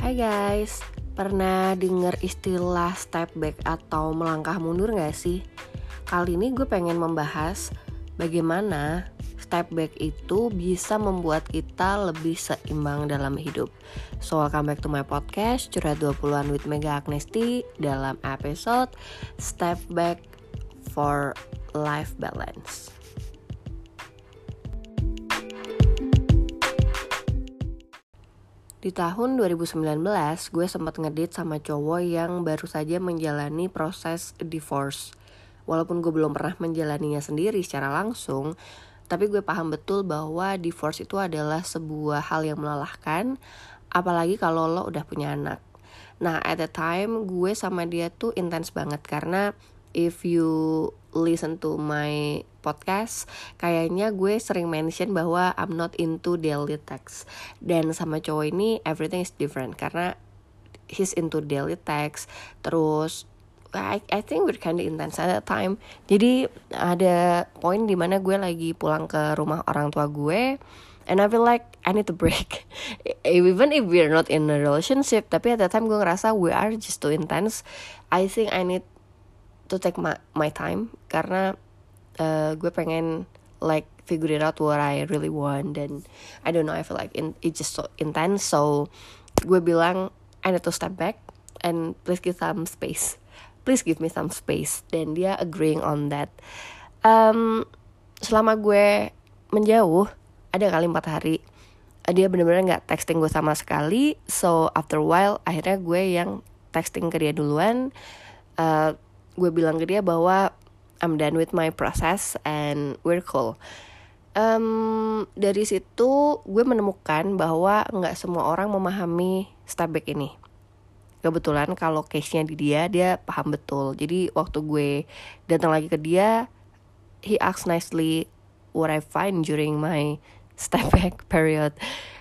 Hai guys, pernah denger istilah step back atau melangkah mundur gak sih? Kali ini gue pengen membahas bagaimana step back itu bisa membuat kita lebih seimbang dalam hidup. So welcome back to my podcast, Curhat 20-an with Mega Agnesti, dalam episode Step Back for Life Balance. Di tahun 2019, gue sempat ngedate sama cowok yang baru saja menjalani proses divorce. Walaupun gue belum pernah menjalaninya sendiri secara langsung, tapi gue paham betul bahwa divorce itu adalah sebuah hal yang melelahkan, apalagi kalau lo udah punya anak. Nah, at the time gue sama dia tuh intens banget karena if you listen to my podcast, kayaknya gue sering mention bahwa I'm not into daily text. Dan sama cowok ini everything is different karena he's into daily text. Terus I think we're kinda intense at that time. Jadi ada poin dimana gue lagi pulang ke rumah orang tua gue, and I feel like I need to break. Even if we're not in a relationship, tapi at that time gue ngerasa we are just too intense. I think I need to take my time karena gue pengen like figure it out what I really want, dan I don't know, I feel like it's just so intense. So gue bilang I need to step back and please give me some space, dan dia agreeing on that. Selama gue menjauh ada kali 4 hari dia benar-benar nggak texting gue sama sekali. So after a while akhirnya gue yang texting ke dia duluan. Gue bilang ke dia bahwa I'm done with my process and we're cool. Dari situ gue menemukan bahwa gak semua orang memahami step back ini. Kebetulan kalau case-nya di dia paham betul. Jadi waktu gue datang lagi ke dia, he asked nicely what I find during my step back period.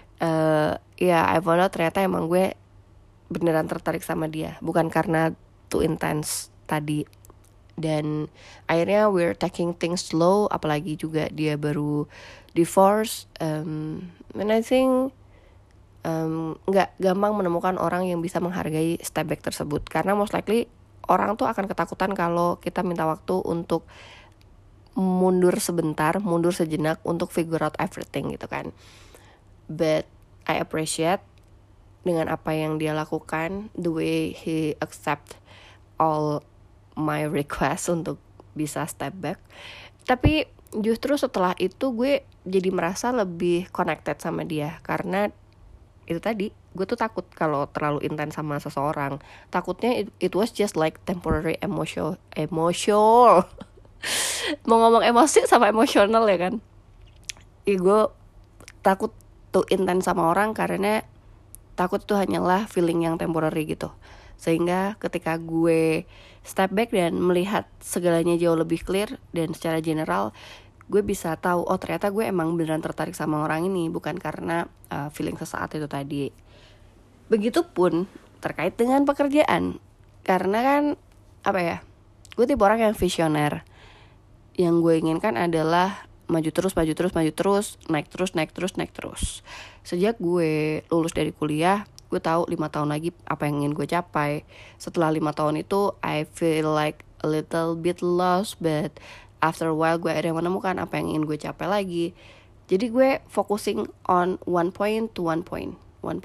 I found out ternyata emang gue beneran tertarik sama dia, bukan karena too intense tadi. Dan akhirnya we're taking things slow, apalagi juga dia baru divorce. And I think gak gampang menemukan orang yang bisa menghargai step back tersebut, karena most likely orang tuh akan ketakutan kalau kita minta waktu untuk mundur sejenak untuk figure out everything gitu kan. But I appreciate dengan apa yang dia lakukan, the way he accept all my request untuk bisa step back. Tapi justru setelah itu gue jadi merasa lebih connected sama dia, karena itu tadi, gue tuh takut kalau terlalu intens sama seseorang. Takutnya it was just like temporary emotional mau ngomong emosi sama emosional ya kan. Gue takut tuh intens sama orang karena takut tuh hanyalah feeling yang temporary gitu. Sehingga ketika gue step back dan melihat segalanya jauh lebih clear, dan secara general gue bisa tahu, oh ternyata gue emang beneran tertarik sama orang ini, bukan karena feeling sesaat itu tadi. Begitupun terkait dengan pekerjaan, karena kan gue tipe orang yang visioner. Yang gue inginkan adalah maju terus, naik terus. Sejak gue lulus dari kuliah, gue tahu 5 tahun lagi apa yang ingin gue capai. Setelah 5 tahun itu I feel like a little bit lost, but after a while gue akhirnya menemukan apa yang ingin gue capai lagi. Jadi gue focusing on one point to one point.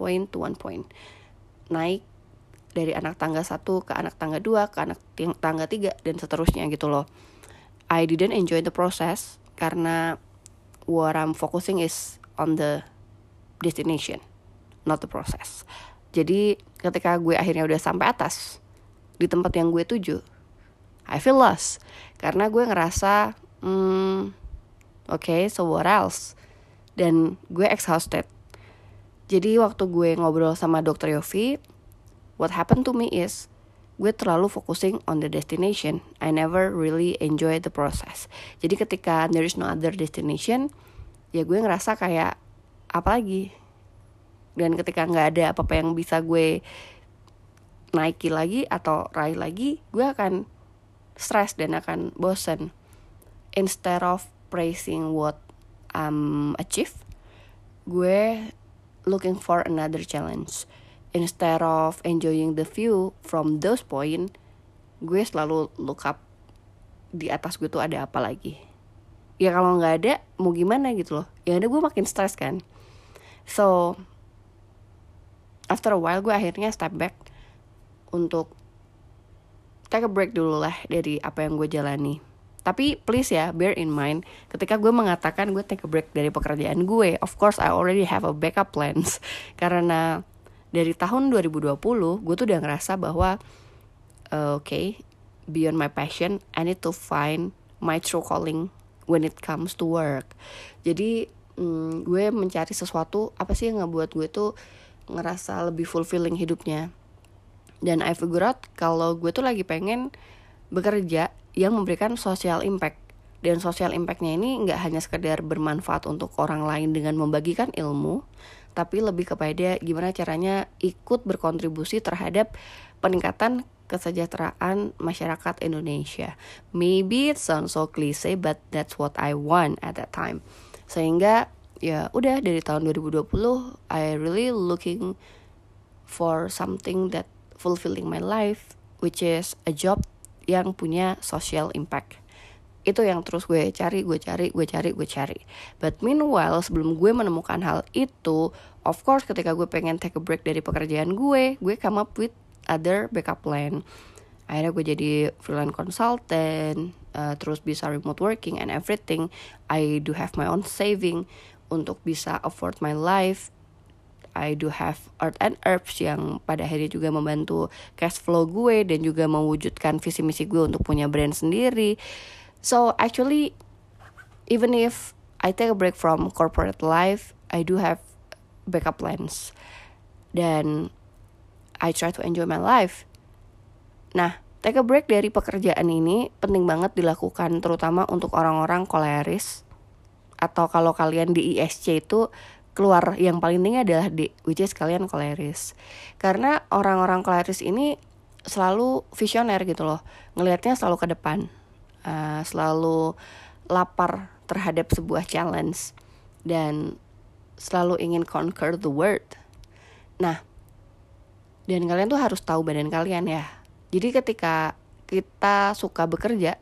Naik dari anak tangga 1 ke anak tangga 2 ke anak tangga 3 dan seterusnya gitu loh. I didn't enjoy the process karena what I'm focusing is on the destination, not the process. Jadi ketika gue akhirnya udah sampai atas di tempat yang gue tuju, I feel lost karena gue ngerasa okay, so what else? Dan gue exhausted. Jadi waktu gue ngobrol sama Dr. Yofi, what happened to me is gue terlalu focusing on the destination. I never really enjoy the process. Jadi ketika there is no other destination, ya gue ngerasa kayak apa lagi? Dan ketika gak ada apa-apa yang bisa gue naiki lagi atau raih lagi, gue akan stress dan akan bosen. Instead of praising what I'm achieve, gue looking for another challenge. instead of enjoying the view from those point, gue selalu look up di atas gue tuh ada apa lagi. Ya kalau nggak ada mau gimana gitu loh, yang ada gue makin stres kan. So after a while gue akhirnya step back untuk take a break dulu lah dari apa yang gue jalani. Tapi please ya, bear in mind, ketika gue mengatakan gue take a break dari pekerjaan gue, of course I already have a backup plans. Karena dari tahun 2020, gue tuh udah ngerasa bahwa okay, beyond my passion, I need to find my true calling when it comes to work. Jadi gue mencari sesuatu, apa sih yang ngebuat gue tuh ngerasa lebih fulfilling hidupnya. Dan I figure out kalau gue tuh lagi pengen bekerja yang memberikan social impact. Dan social impactnya ini gak hanya sekedar bermanfaat untuk orang lain dengan membagikan ilmu, tapi lebih kepada gimana caranya ikut berkontribusi terhadap peningkatan kesejahteraan masyarakat Indonesia. Maybe it sounds so cliche, but that's what I want at that time. Sehingga ya udah dari tahun 2020 I really looking for something that fulfilling my life, which is a job yang punya social impact. Itu yang terus gue cari. But meanwhile, sebelum gue menemukan hal itu, of course ketika gue pengen take a break dari pekerjaan gue come up with other backup plan. Akhirnya gue jadi freelance consultant, terus bisa remote working and everything. I do have my own saving untuk bisa afford my life. I do have art and herbs yang pada akhirnya juga membantu cash flow gue dan juga mewujudkan visi misi gue untuk punya brand sendiri. So actually, even if I take a break from corporate life, I do have backup plans. Dan I try to enjoy my life. Nah, take a break dari pekerjaan ini penting banget dilakukan terutama untuk orang-orang koleris. Atau kalau kalian di ISC itu keluar yang paling tinggi adalah D, which is kalian koleris. Karena orang-orang koleris ini selalu visioner gitu loh, ngelihatnya selalu ke depan, selalu lapar terhadap sebuah challenge dan selalu ingin conquer the world. Nah, dan kalian tuh harus tahu badan kalian ya. Jadi ketika kita suka bekerja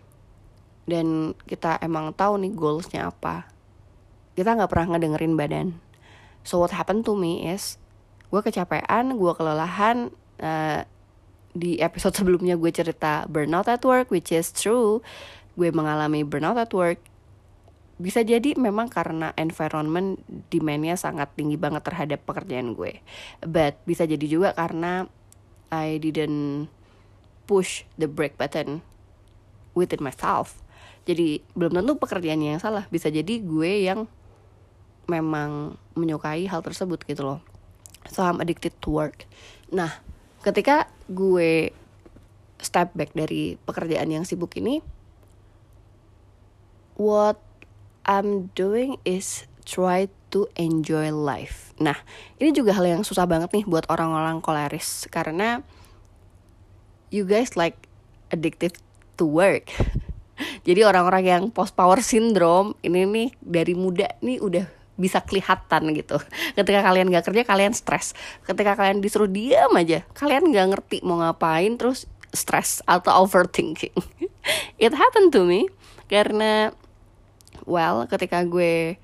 dan kita emang tahu nih goalsnya apa, kita gak pernah ngedengerin badan. So what happened to me is, gue kecapean, gue kelelahan. Di episode sebelumnya gue cerita burnout at work, which is true. Gue mengalami burnout at work. Bisa jadi memang karena environment demand-nya sangat tinggi banget terhadap pekerjaan gue. But bisa jadi juga karena I didn't push the break button within myself. Jadi belum tentu pekerjaannya yang salah. Bisa jadi gue yang memang menyukai hal tersebut gitu loh. So I'm addicted to work. Nah, ketika gue step back dari pekerjaan yang sibuk ini, what I'm doing is try to enjoy life. Nah, ini juga hal yang susah banget nih buat orang-orang koleris, karena you guys like addicted to work. Jadi orang-orang yang post power syndrome ini nih dari muda nih udah bisa kelihatan gitu. Ketika kalian gak kerja, kalian stres. Ketika kalian disuruh diam aja, kalian gak ngerti mau ngapain, terus stres atau overthinking. It happened to me. Karena, well, ketika gue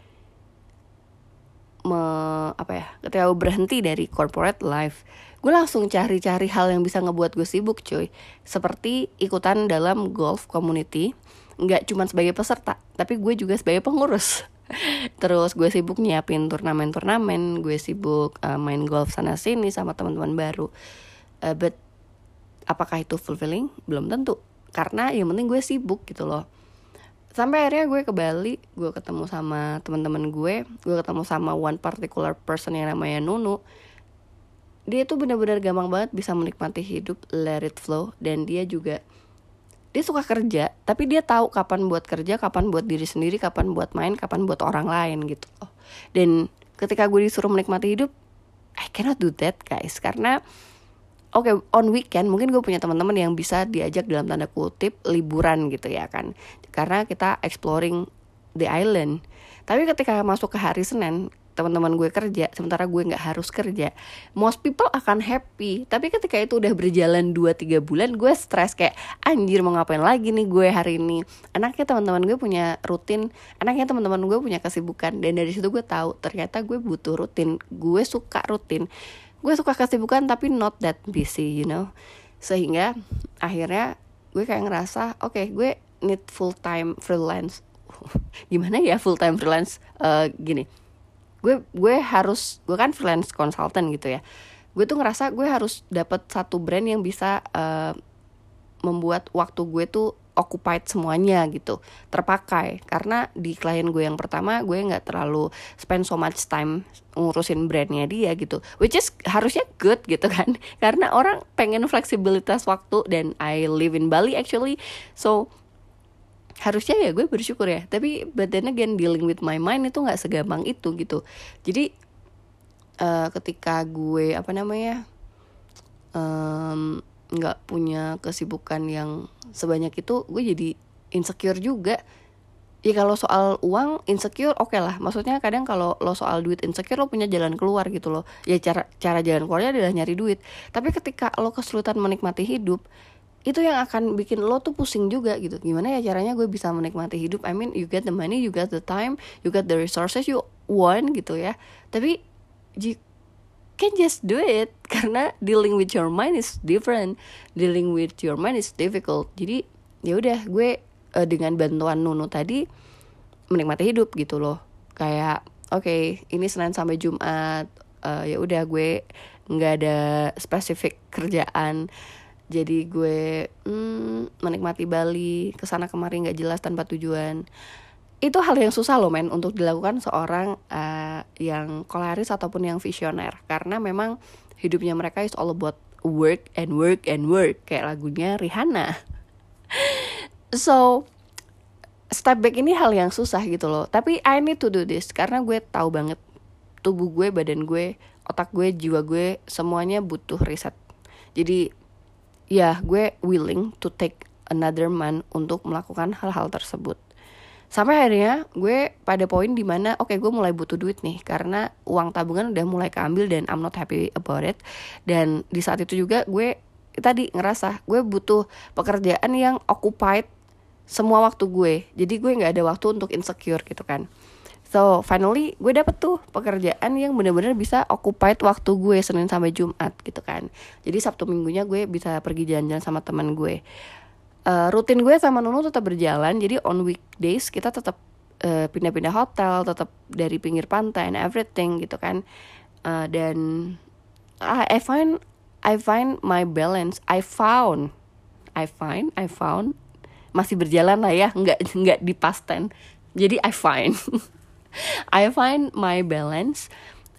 ketika gue berhenti dari corporate life, gue langsung cari-cari hal yang bisa ngebuat gue sibuk cuy. Seperti ikutan dalam golf community. Gak cuma sebagai peserta, tapi gue juga sebagai pengurus. Terus gue sibuk nyiapin turnamen-turnamen, gue sibuk main golf sana-sini sama teman-teman baru. But apakah itu fulfilling? Belum tentu. Karena yang penting gue sibuk gitu loh. Sampai akhirnya gue ke Bali, gue ketemu sama teman-teman gue ketemu sama one particular person yang namanya Nunu. Dia tuh benar-benar gampang banget bisa menikmati hidup, let it flow. Dan dia suka kerja, tapi dia tahu kapan buat kerja, kapan buat diri sendiri, kapan buat main, kapan buat orang lain gitu loh. Dan ketika gue disuruh menikmati hidup, I cannot do that guys. Karena on weekend mungkin gue punya teman-teman yang bisa diajak dalam tanda kutip liburan gitu ya kan, karena kita exploring the island. Tapi ketika masuk ke hari Senin, teman-teman gue kerja, sementara gue nggak harus kerja, most people akan happy. Tapi ketika itu udah berjalan 2-3 bulan, gue stres kayak anjir mau ngapain lagi nih gue hari ini. Enaknya teman-teman gue punya rutin, enaknya teman-teman gue punya kesibukan. Dan dari situ gue tahu ternyata gue butuh rutin, gue suka rutin, gue suka kesibukan tapi not that busy, you know. Sehingga akhirnya gue kayak ngerasa oke, gue need full time freelance. Gimana ya full time freelance? Gini, gue kan freelance consultant gitu ya. Gue tuh ngerasa gue harus dapat satu brand yang bisa membuat waktu gue tuh occupied semuanya gitu, terpakai. Karena di klien gue yang pertama, gue nggak terlalu spend so much time ngurusin brandnya dia gitu, which is harusnya good gitu kan, karena orang pengen fleksibilitas waktu, dan I live in Bali actually, so harusnya ya gue bersyukur ya. Tapi but then again, dealing with my mind itu nggak segampang itu gitu. Jadi ketika gue nggak punya kesibukan yang sebanyak itu, gue jadi insecure juga. Ya kalau soal uang insecure oke lah, maksudnya kadang kalau lo soal duit insecure, lo punya jalan keluar gitu loh. Ya cara jalan keluarnya adalah nyari duit. Tapi ketika lo kesulitan menikmati hidup, itu yang akan bikin lo tuh pusing juga gitu. Gimana ya caranya gue bisa menikmati hidup? I mean, you get the money, you get the time, you get the resources you want gitu ya. Tapi can just do it, karena dealing with your mind is different, dealing with your mind is difficult. Jadi ya udah, gue dengan bantuan Nunu tadi menikmati hidup gitu loh. Kayak oke, ini Senin sampai Jumat, ya udah gue nggak ada spesifik kerjaan, jadi gue menikmati Bali, kesana kemari nggak jelas tanpa tujuan. Itu hal yang susah loh men untuk dilakukan seorang yang koleris ataupun yang visioner, karena memang hidupnya mereka is all about work and work and work, kayak lagunya Rihanna. So step back ini hal yang susah gitu loh. Tapi I need to do this, karena gue tahu banget tubuh gue, badan gue, otak gue, jiwa gue, semuanya butuh riset. Jadi ya gue willing to take another month untuk melakukan hal-hal tersebut. Sampai akhirnya gue pada poin dimana oke, gue mulai butuh duit nih, karena uang tabungan udah mulai keambil dan I'm not happy about it. Dan di saat itu juga gue tadi ngerasa gue butuh pekerjaan yang occupied semua waktu gue. Jadi gue gak ada waktu untuk insecure gitu kan. So finally gue dapet tuh pekerjaan yang benar-benar bisa occupied waktu gue Senin sampai Jumat gitu kan. Jadi Sabtu Minggunya gue bisa pergi jalan-jalan sama teman gue. Rutin gue sama Nunu tetap berjalan. Jadi on weekdays kita tetap pindah-pindah hotel, tetap dari pinggir pantai and everything gitu kan. Dan I find my balance. I found masih berjalan lah ya, nggak di past tense. Jadi I find my balance,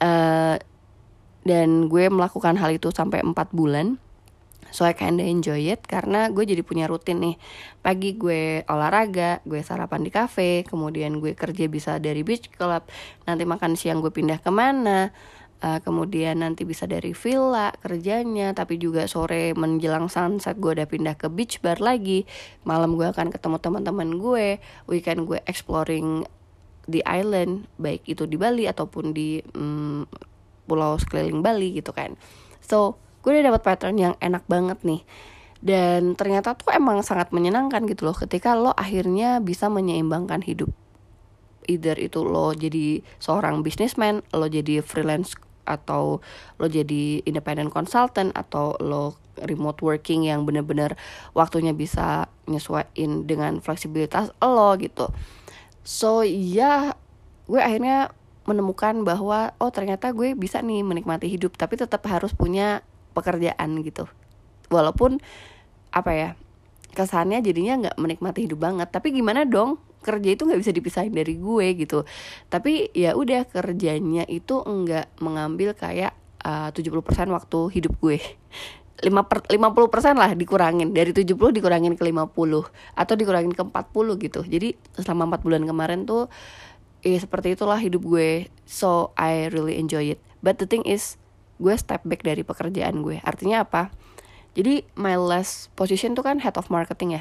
dan gue melakukan hal itu sampai 4 bulan. So I kinda enjoy it, karena gue jadi punya rutin nih. Pagi gue olahraga, gue sarapan di cafe, kemudian gue kerja bisa dari beach club, nanti makan siang gue pindah kemana, kemudian nanti bisa dari villa kerjanya, tapi juga sore menjelang sunset gue udah pindah ke beach bar lagi. Malam gue akan ketemu teman-teman gue, weekend gue exploring di island, baik itu di Bali ataupun di pulau sekeliling Bali gitu kan. So gue udah dapat pattern yang enak banget nih. Dan ternyata tuh emang sangat menyenangkan gitu loh, ketika lo akhirnya bisa menyeimbangkan hidup. Either itu lo jadi seorang businessman, lo jadi freelance, atau lo jadi independent consultant, atau lo remote working yang benar-benar waktunya bisa nyesuaiin dengan fleksibilitas lo gitu. So ya, gue akhirnya menemukan bahwa oh ternyata gue bisa nih menikmati hidup, tapi tetap harus punya pekerjaan gitu. Walaupun kesannya jadinya gak menikmati hidup banget, tapi gimana dong, kerja itu gak bisa dipisahin dari gue gitu. Tapi ya udah, kerjanya itu enggak mengambil kayak 70% waktu hidup gue. 50% lah dikurangin, dari 70 dikurangin ke 50 atau dikurangin ke 40 gitu. Jadi selama 4 bulan kemarin tuh seperti itulah hidup gue. So I really enjoy it. But the thing is, gue step back dari pekerjaan gue. Artinya apa? Jadi my last position tuh kan head of marketing ya.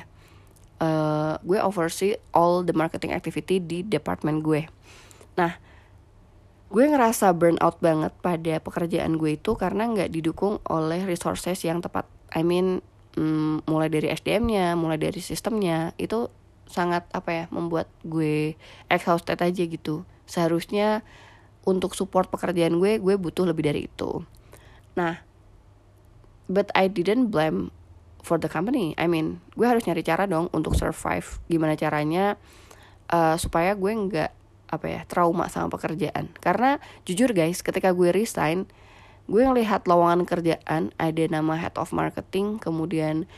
Gue oversee all the marketing activity di department gue. Nah, gue ngerasa burn out banget pada pekerjaan gue itu karena nggak didukung oleh resources yang tepat. I mean, mulai dari SDM-nya, mulai dari sistemnya, itu sangat membuat gue exhausted aja gitu. Seharusnya untuk support pekerjaan gue butuh lebih dari itu. Nah, but I didn't blame for the company. I mean, gue harus nyari cara dong untuk survive. Gimana caranya supaya gue nggak trauma sama pekerjaan. Karena jujur guys, ketika gue resign, gue ngelihat lowongan kerjaan ada nama head of marketing, kemudian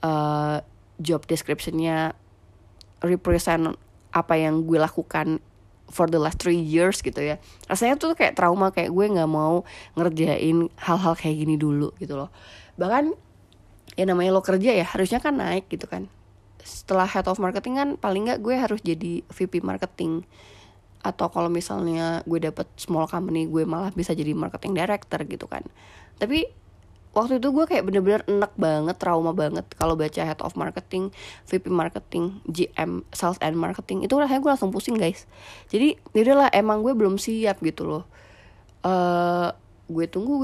job description-nya represent apa yang gue lakukan for the last 3 years gitu ya. Rasanya tuh kayak trauma, kayak gue nggak mau ngerjain hal-hal kayak gini dulu gitu loh. Bahkan ya namanya lo kerja ya harusnya kan naik gitu kan. Setelah head of marketing kan paling nggak gue harus jadi VP marketing, atau kalau misalnya gue dapet small company gue malah bisa jadi marketing director gitu kan. Tapi waktu itu gue kayak bener-bener enek banget, trauma banget kalau baca head of marketing, VP marketing, GM sales and marketing, itu rasanya gue langsung pusing guys. Jadi yaudahlah, emang gue belum siap gitu loh. Gue tunggu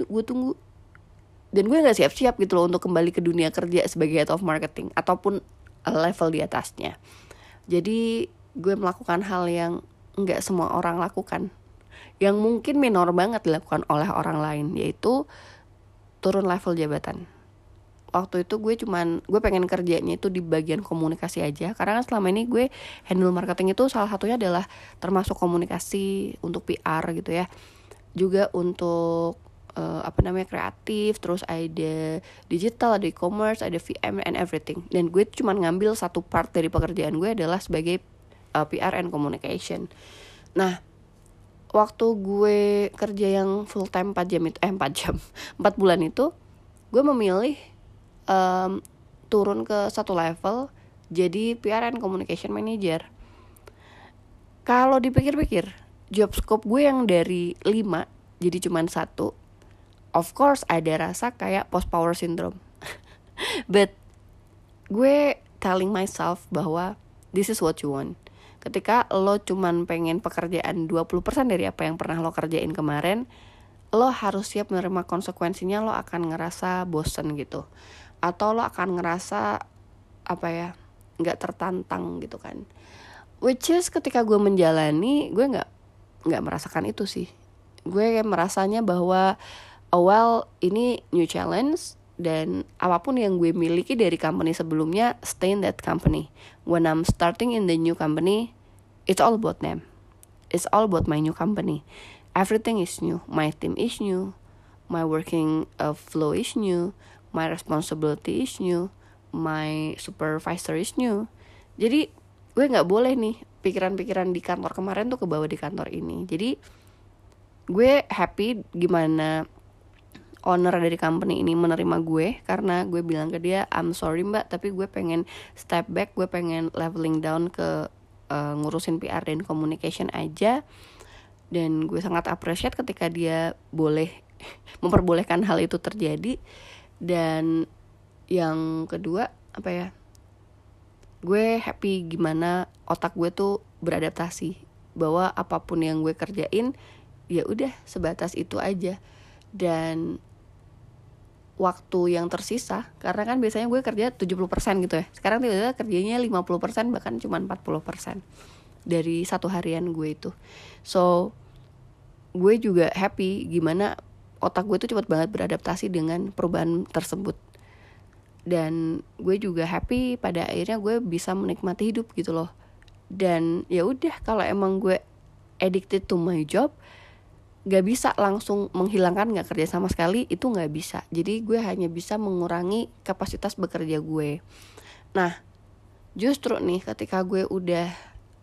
dan gue nggak siap-siap gitu loh untuk kembali ke dunia kerja sebagai head of marketing ataupun level di atasnya. Jadi gue melakukan hal yang nggak semua orang lakukan, yang mungkin minor banget dilakukan oleh orang lain, yaitu turun level jabatan. Waktu itu gue pengen kerjanya itu di bagian komunikasi aja, karena kan selama ini gue handle marketing itu salah satunya adalah termasuk komunikasi untuk PR gitu ya, juga untuk kreatif, terus ada digital, ada e-commerce, ada VM and everything. Dan gue cuma ngambil satu part dari pekerjaan gue adalah sebagai PR and communication. Nah, waktu gue kerja yang full time 4 bulan itu, gue memilih turun ke satu level jadi PR and communication manager. Kalau dipikir-pikir, job scope gue yang dari 5 jadi cuma 1. Of course ada rasa kayak post power syndrome. But gue telling myself bahwa this is what you want. Ketika lo cuman pengen pekerjaan 20% dari apa yang pernah lo kerjain kemarin, lo harus siap menerima konsekuensinya. Lo akan ngerasa bosen gitu, atau lo akan ngerasa gak tertantang gitu kan. Which is ketika gue menjalani, gue gak merasakan itu sih. Gue merasanya bahwa ini new challenge, dan apapun yang gue miliki dari company sebelumnya, stay in that company. When I'm starting in the new company, it's all about them. It's all about my new company. Everything is new. My team is new. My working flow is new. My responsibility is new. My supervisor is new. Jadi gue gak boleh nih pikiran-pikiran di kantor kemarin tuh kebawa di kantor ini. Jadi gue happy gimana owner dari company ini menerima gue, karena gue bilang ke dia, I'm sorry mbak, tapi gue pengen step back, gue pengen leveling down ke ngurusin PR dan communication aja. Dan gue sangat appreciate ketika dia boleh memperbolehkan hal itu terjadi. Dan yang kedua gue happy gimana otak gue tuh beradaptasi, bahwa apapun yang gue kerjain ya udah sebatas itu aja. Dan waktu yang tersisa, karena kan biasanya gue kerja 70% gitu ya, sekarang tiba-tiba kerjanya 50%, bahkan cuma 40% dari satu harian gue itu. So gue juga happy gimana otak gue tuh cepat banget beradaptasi dengan perubahan tersebut. Dan gue juga happy pada akhirnya gue bisa menikmati hidup gitu loh. Dan ya udah, kalau emang gue addicted to my job, gak bisa langsung menghilangkan gak kerja sama sekali, itu gak bisa. Jadi gue hanya bisa mengurangi kapasitas bekerja gue. Nah, justru nih ketika gue udah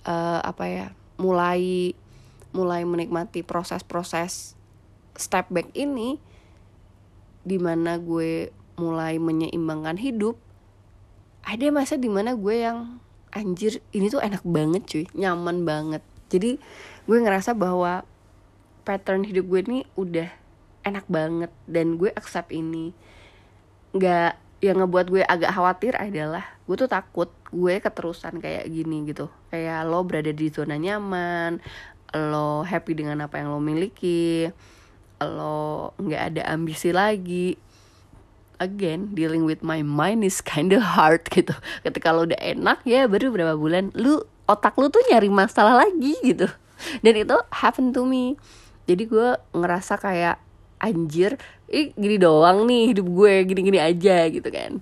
mulai menikmati proses-proses step back ini, dimana gue mulai menyeimbangkan hidup, ada masa dimana gue yang anjir, ini tuh enak banget cuy, nyaman banget. Jadi gue ngerasa bahwa pattern hidup gue ini udah enak banget, dan gue accept ini. Yang ngebuat gue agak khawatir adalah gue tuh takut gue keterusan kayak gini gitu, kayak lo berada di zona nyaman, lo happy dengan apa yang lo miliki, lo nggak ada ambisi lagi. Again, dealing with my mind is kinda hard gitu. Ketika lo udah enak ya baru berapa bulan otak lu tuh nyari masalah lagi gitu. Dan itu happen to me. Jadi gue ngerasa kayak anjir, gini doang nih hidup gue, gini-gini aja gitu kan.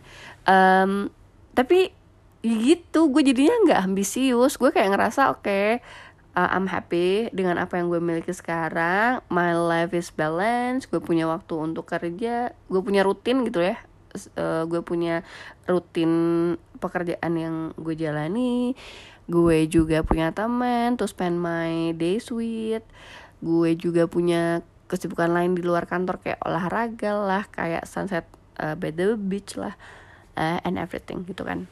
Tapi gitu, gue jadinya nggak ambisius. Gue kayak ngerasa oke, I'm happy dengan apa yang gue miliki sekarang. My life is balanced. Gue punya waktu untuk kerja. Gue punya rutin gitu ya. Gue punya rutin pekerjaan yang gue jalani. Gue juga punya teman to spend my days with. Gue juga punya kesibukan lain di luar kantor kayak olahraga lah, kayak sunset by the beach lah, and everything gitu kan.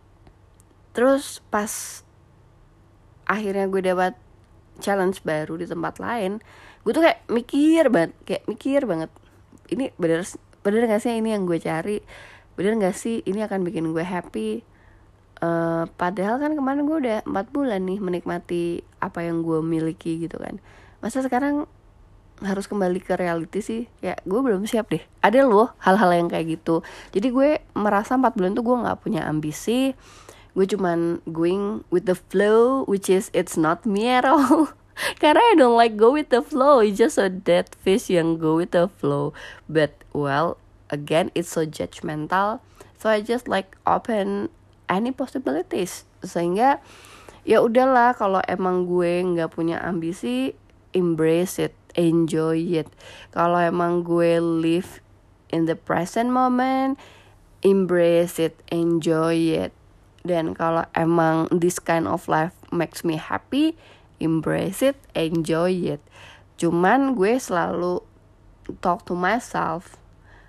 Terus pas akhirnya gue dapat challenge baru di tempat lain, gue tuh kayak mikir banget, ini bener gak sih ini yang gue cari, bener gak sih ini akan bikin gue happy. Padahal kan kemarin gue udah 4 bulan nih menikmati apa yang gue miliki gitu kan. Masa sekarang harus kembali ke reality sih? Ya gue belum siap deh. Ada loh hal-hal yang kayak gitu. Jadi gue merasa 4 bulan tuh gue gak punya ambisi. Gue cuman going with the flow, which is it's not me at all. Karena I don't like go with the flow. It's just a dead fish yang go with the flow. But well, again it's so judgmental. So I just like open any possibilities. Sehingga ya udahlah, kalau emang gue nggak punya ambisi, embrace it, enjoy it. Kalau emang gue live in the present moment, embrace it, enjoy it. Dan kalau emang this kind of life makes me happy, embrace it, enjoy it. Cuman gue selalu talk to myself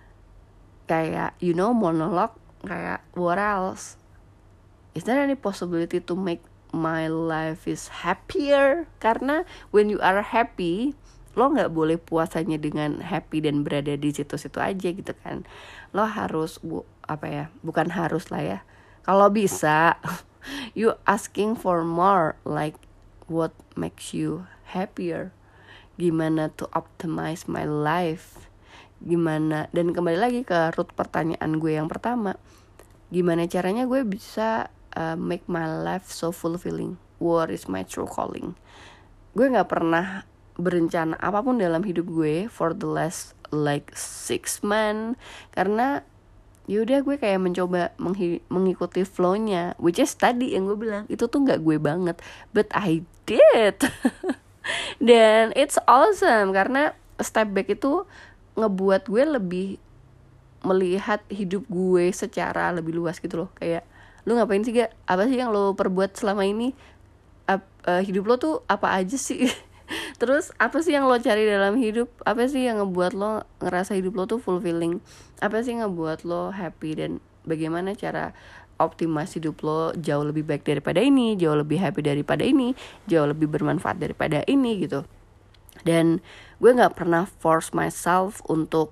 kayak monolog, kayak what else? Is there any possibility to make my life is happier? Karena when you are happy, lo nggak boleh puas hanya dengan happy dan berada di situ-situ aja gitu kan. Lo harus bukan harus lah ya. Kalau bisa, you asking for more, like what makes you happier? Gimana to optimize my life? Gimana? Dan kembali lagi ke root pertanyaan gue yang pertama. Gimana caranya gue bisa make my life so fulfilling? What is my true calling? Gue gak pernah berencana apapun dalam hidup gue for the last like 6 months. Karena yaudah gue kayak mencoba mengikuti flow-nya, which is tadi yang gue bilang itu tuh gak gue banget, but I did. Dan it's awesome karena step back itu ngebuat gue lebih melihat hidup gue secara lebih luas gitu loh. Kayak lu ngapain sih gak? Apa sih yang lo perbuat selama ini? Hidup lo tuh apa aja sih? Terus apa sih yang lo cari dalam hidup? Apa sih yang ngebuat lo ngerasa hidup lo tuh fulfilling? Apa sih yang ngebuat lo happy? Dan bagaimana cara optimasi hidup lo jauh lebih baik daripada ini, jauh lebih happy daripada ini, jauh lebih bermanfaat daripada ini gitu. Dan gue gak pernah force myself untuk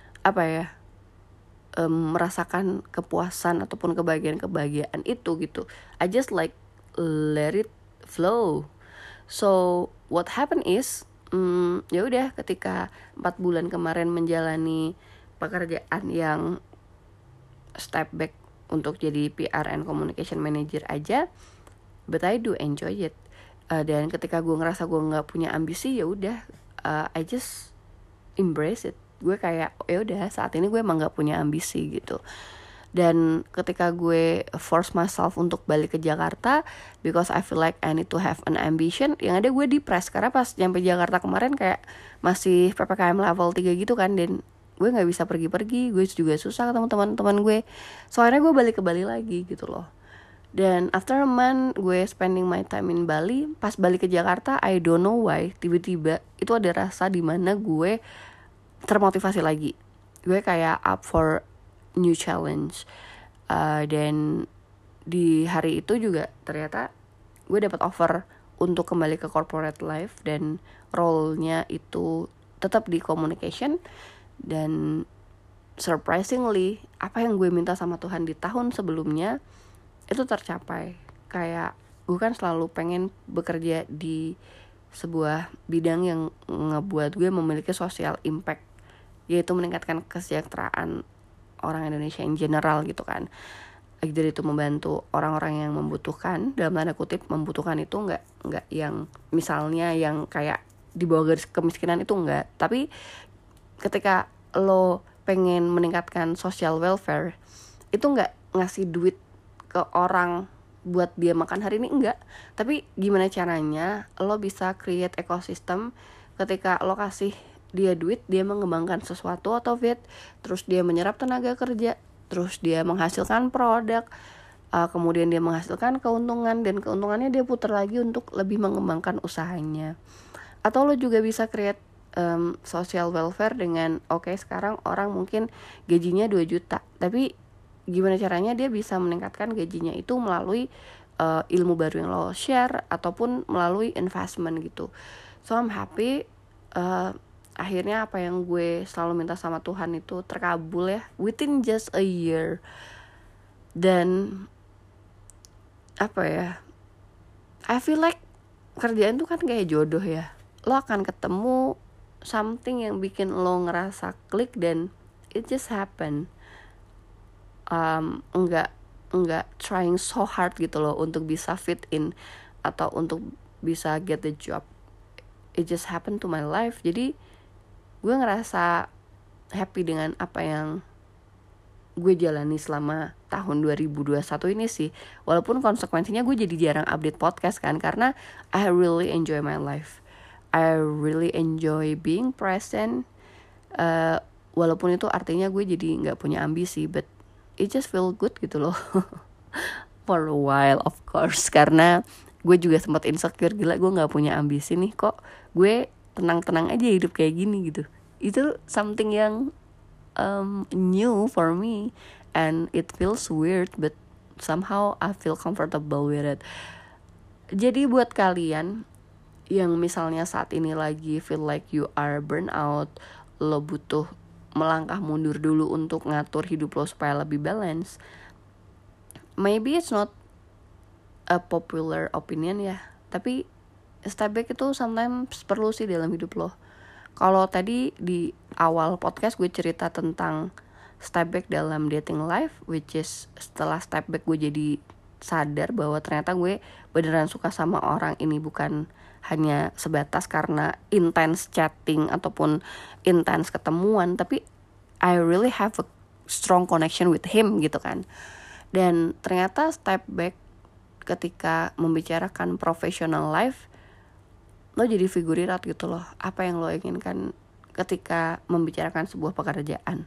merasakan kepuasan ataupun kebahagiaan itu gitu. I just like let it flow. So what happened is ya udah, ketika 4 bulan kemarin menjalani pekerjaan yang step back untuk jadi PR and communication manager aja, but I do enjoy it. Dan ketika gue ngerasa gue nggak punya ambisi, ya udah, I just embrace it. Gue kayak ya udah, saat ini gue emang nggak punya ambisi gitu. Dan ketika gue force myself untuk balik ke Jakarta because I feel like I need to have an ambition, yang ada gue depres karena pas nyampe Jakarta kemarin kayak masih PPKM level 3 gitu kan, dan gue gak bisa pergi-pergi, gue juga susah ketemu teman-teman gue. So akhirnya gue balik ke Bali lagi gitu loh. Dan after a month gue spending my time in Bali, pas balik ke Jakarta I don't know why tiba-tiba itu ada rasa dimana gue termotivasi lagi. Gue kayak up for new challenge. Dan di hari itu juga ternyata gue dapat offer untuk kembali ke corporate life, dan role-nya itu tetap di communication. Dan surprisingly, apa yang gue minta sama Tuhan di tahun sebelumnya itu tercapai. Kayak gue kan selalu pengen bekerja di sebuah bidang yang ngebuat gue memiliki social impact, yaitu meningkatkan kesejahteraan orang Indonesia in general gitu kan. Either itu membantu orang-orang yang membutuhkan, dalam tanda kutip membutuhkan itu nggak yang misalnya yang kayak di bawah garis kemiskinan itu enggak, tapi ketika lo pengen meningkatkan social welfare itu nggak ngasih duit ke orang buat dia makan hari ini, enggak, tapi gimana caranya lo bisa create ekosistem. Ketika lo kasih dia duit, dia mengembangkan sesuatu atau terus dia menyerap tenaga kerja, terus dia menghasilkan produk, kemudian dia menghasilkan keuntungan, dan keuntungannya dia putar lagi untuk lebih mengembangkan usahanya. Atau lo juga bisa create social welfare dengan sekarang orang mungkin gajinya 2 juta, tapi gimana caranya dia bisa meningkatkan gajinya itu melalui ilmu baru yang lo share ataupun melalui investment gitu. So I'm happy akhirnya apa yang gue selalu minta sama Tuhan itu terkabul ya, within just a year. Dan I feel like kerjaan tuh kan kayak jodoh ya, lo akan ketemu something yang bikin lo ngerasa klik dan it just happen. Enggak trying so hard gitu loh untuk bisa fit in atau untuk bisa get the job. It just happened to my life. Jadi gue ngerasa happy dengan apa yang gue jalani selama tahun 2021 ini sih. Walaupun konsekuensinya gue jadi jarang update podcast kan, karena I really enjoy my life. I really enjoy being present. Walaupun itu artinya gue jadi gak punya ambisi, but it just feel good gitu loh. For a while of course, karena gue juga sempat insecure, gila gue gak punya ambisi nih, kok gue tenang-tenang aja hidup kayak gini gitu. Itu something yang new for me and it feels weird, but somehow I feel comfortable with it. Jadi buat kalian yang misalnya saat ini lagi feel like you are burnout, lo butuh melangkah mundur dulu untuk ngatur hidup lo supaya lebih balance. Maybe it's not a popular opinion ya, tapi step back itu sometimes perlu sih dalam hidup lo. Kalau tadi di awal podcast gue cerita tentang step back dalam dating life, which is setelah step back gue jadi sadar bahwa ternyata gue beneran suka sama orang ini bukan hanya sebatas karena intense chatting ataupun intense ketemuan, tapi I really have a strong connection with him gitu kan. Dan ternyata step back ketika membicarakan professional life, lo jadi figurirat gitu loh, apa yang lo inginkan ketika membicarakan sebuah pekerjaan.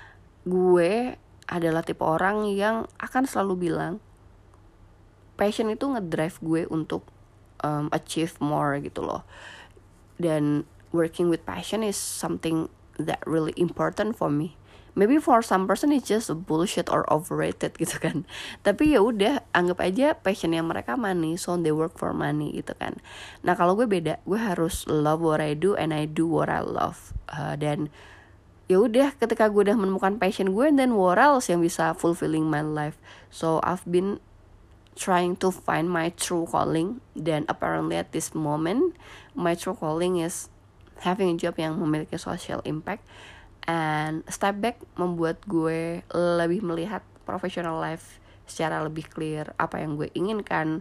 Gue adalah tipe orang yang akan selalu bilang passion itu ngedrive gue untuk achieve more gitu loh. Dan working with passion is something that really important for me. Maybe for some person it's just a bullshit or overrated gitu kan. Tapi ya udah, anggap aja passionnya mereka money, so they work for money gitu kan. Nah kalau gue beda, gue harus love what I do and I do what I love. Dan ya udah, ketika gue udah menemukan passion gue, then what else yang bisa fulfilling my life. So I've been trying to find my true calling, dan apparently at this moment my true calling is having a job yang memiliki social impact. And step back membuat gue lebih melihat professional life secara lebih clear, apa yang gue inginkan.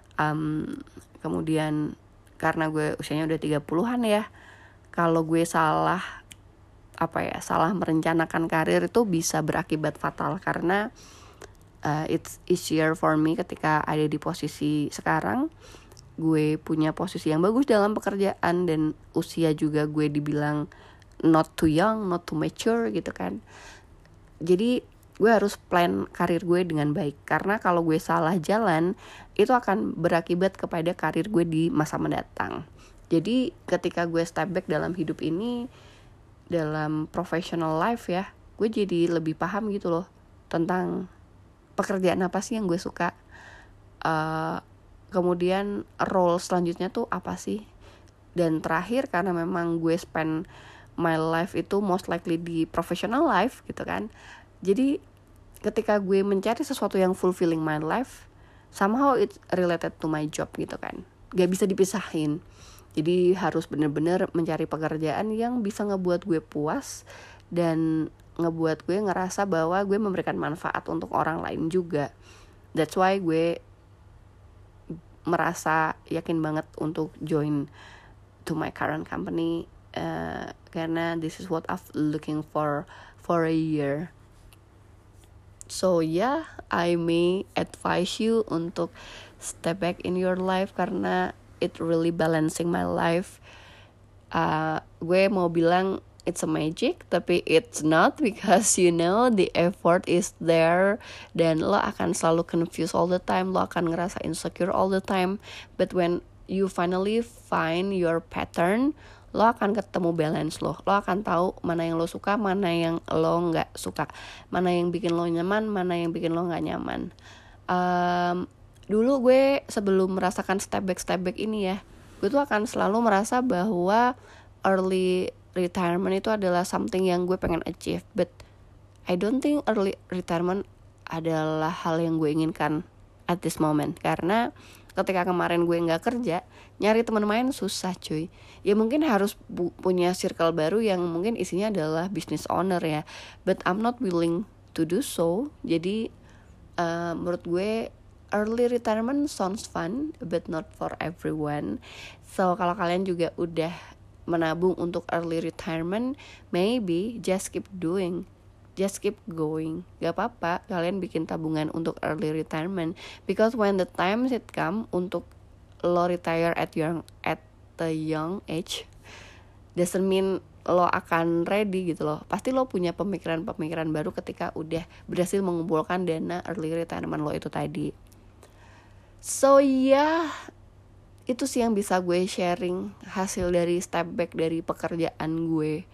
Kemudian karena gue usianya udah 30-an ya, kalau gue salah merencanakan karir itu bisa berakibat fatal, karena it's easier for me ketika ada di posisi sekarang. Gue punya posisi yang bagus dalam pekerjaan, dan usia juga gue dibilang not too young, not too mature gitu kan. Jadi gue harus plan karir gue dengan baik, karena kalau gue salah jalan itu akan berakibat kepada karir gue di masa mendatang. Jadi ketika gue step back dalam hidup ini, dalam professional life ya, gue jadi lebih paham gitu loh tentang pekerjaan apa sih yang gue suka, kemudian role selanjutnya tuh apa sih. Dan terakhir, karena memang gue spend my life itu most likely di professional life gitu kan, jadi ketika gue mencari sesuatu yang fulfilling my life, somehow it's related to my job gitu kan, gak bisa dipisahin. Jadi harus bener-bener mencari pekerjaan yang bisa ngebuat gue puas dan ngebuat gue ngerasa bahwa gue memberikan manfaat untuk orang lain juga. That's why gue merasa yakin banget untuk join to my current company, karena this is what I've looking for a year. So yeah, I may advise you untuk step back in your life karena it really balancing my life. Gue mau bilang it's a magic, tapi it's not, because you know the effort is there dan lo akan selalu confused all the time, lo akan ngerasa insecure all the time. But when you finally find your pattern, lo akan ketemu balance lo akan tahu mana yang lo suka, mana yang lo nggak suka, mana yang bikin lo nyaman, mana yang bikin lo nggak nyaman. Dulu gue sebelum merasakan step back ini ya, gue tuh akan selalu merasa bahwa early retirement itu adalah something yang gue pengen achieve, but I don't think early retirement adalah hal yang gue inginkan at this moment. Karena ketika kemarin gue nggak kerja, nyari teman main susah cuy. Ya mungkin harus punya circle baru yang mungkin isinya adalah business owner ya, but I'm not willing to do so. Jadi menurut gue early retirement sounds fun, but not for everyone. So kalau kalian juga udah menabung untuk early retirement, maybe just keep going, just keep going. Gak apa-apa kalian bikin tabungan untuk early retirement, because when the time it come untuk lo retire at the young age, doesn't mean lo akan ready gitu loh. Pasti lo punya pemikiran baru ketika udah berhasil mengumpulkan dana early retirement lo itu tadi. So yeah, itu sih yang bisa gue sharing hasil dari step back dari pekerjaan gue.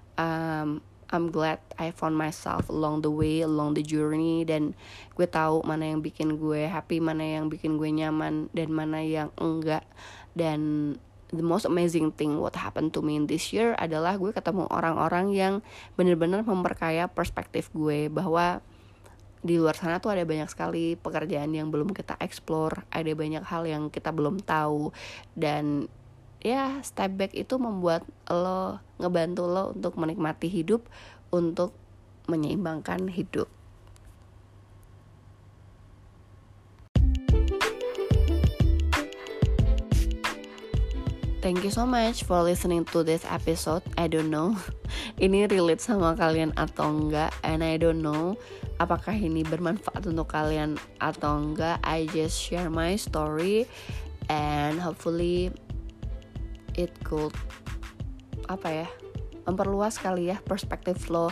I'm glad I found myself along the way, along the journey, dan gue tahu mana yang bikin gue happy, mana yang bikin gue nyaman, dan mana yang enggak. Dan the most amazing thing what happened to me in this year adalah gue ketemu orang-orang yang benar-benar memperkaya perspektif gue, bahwa di luar sana tuh ada banyak sekali pekerjaan yang belum kita explore, ada banyak hal yang kita belum tahu. Dan ya, step back itu membuat lo, ngebantu lo untuk menikmati hidup, untuk menyeimbangkan hidup. Thank you so much for listening to this episode. I don't know ini relate sama kalian atau enggak, and I don't know apakah ini bermanfaat untuk kalian atau enggak. I just share my story and hopefully it could memperluas kali ya perspektif lo,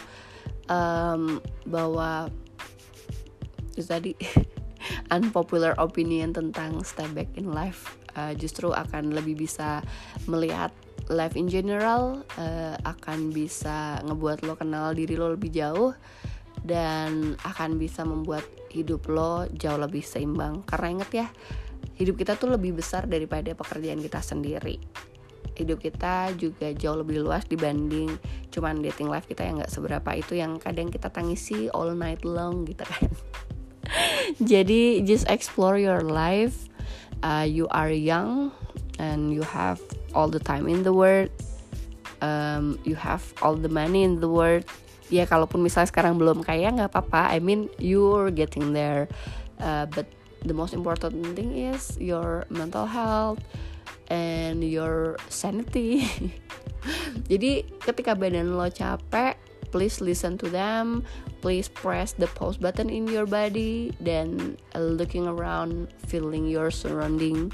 bahwa itu tadi unpopular opinion tentang step back in life justru akan lebih bisa melihat life in general, akan bisa ngebuat lo kenal diri lo lebih jauh, dan akan bisa membuat hidup lo jauh lebih seimbang. Karena inget ya, hidup kita tuh lebih besar daripada pekerjaan kita sendiri. Hidup kita juga jauh lebih luas dibanding cuman dating life kita yang gak seberapa itu, yang kadang kita tangisi all night long gitu kan. Jadi just explore your life. You are young and you have all the time in the world. You have all the money in the world. Ya kalaupun misalnya sekarang belum kaya gak apa-apa, I mean you're getting there. But the most important thing is your mental health and your sanity. Jadi ketika badan lo capek, please listen to them. Please press the pause button in your body, then looking around, feeling your surrounding.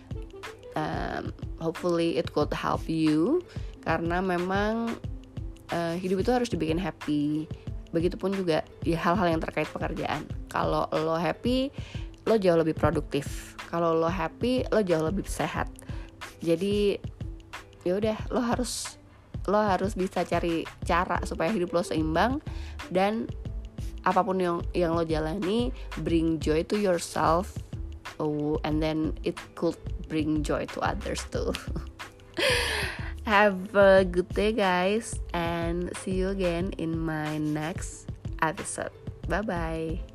Hopefully it could help you, karena memang hidup itu harus dibikin happy. Begitupun juga ya hal-hal yang terkait pekerjaan. Kalau lo happy, lo jauh lebih produktif. Kalau lo happy, lo jauh lebih sehat. Jadi ya udah, lo harus bisa cari cara supaya hidup lo seimbang, dan apapun yang lo jalani, bring joy to yourself, and then it could bring joy to others too. Have a good day guys, and see you again in my next episode. Bye bye.